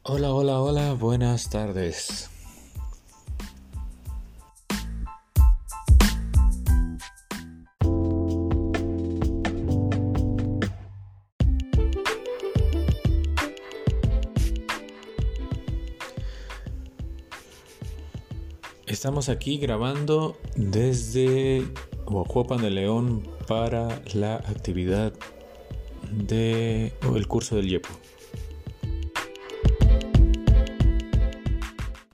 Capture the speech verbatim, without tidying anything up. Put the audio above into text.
Hola, hola, hola, buenas tardes. Estamos aquí grabando desde Huajuapan de León para la actividad de o el curso del YEPO.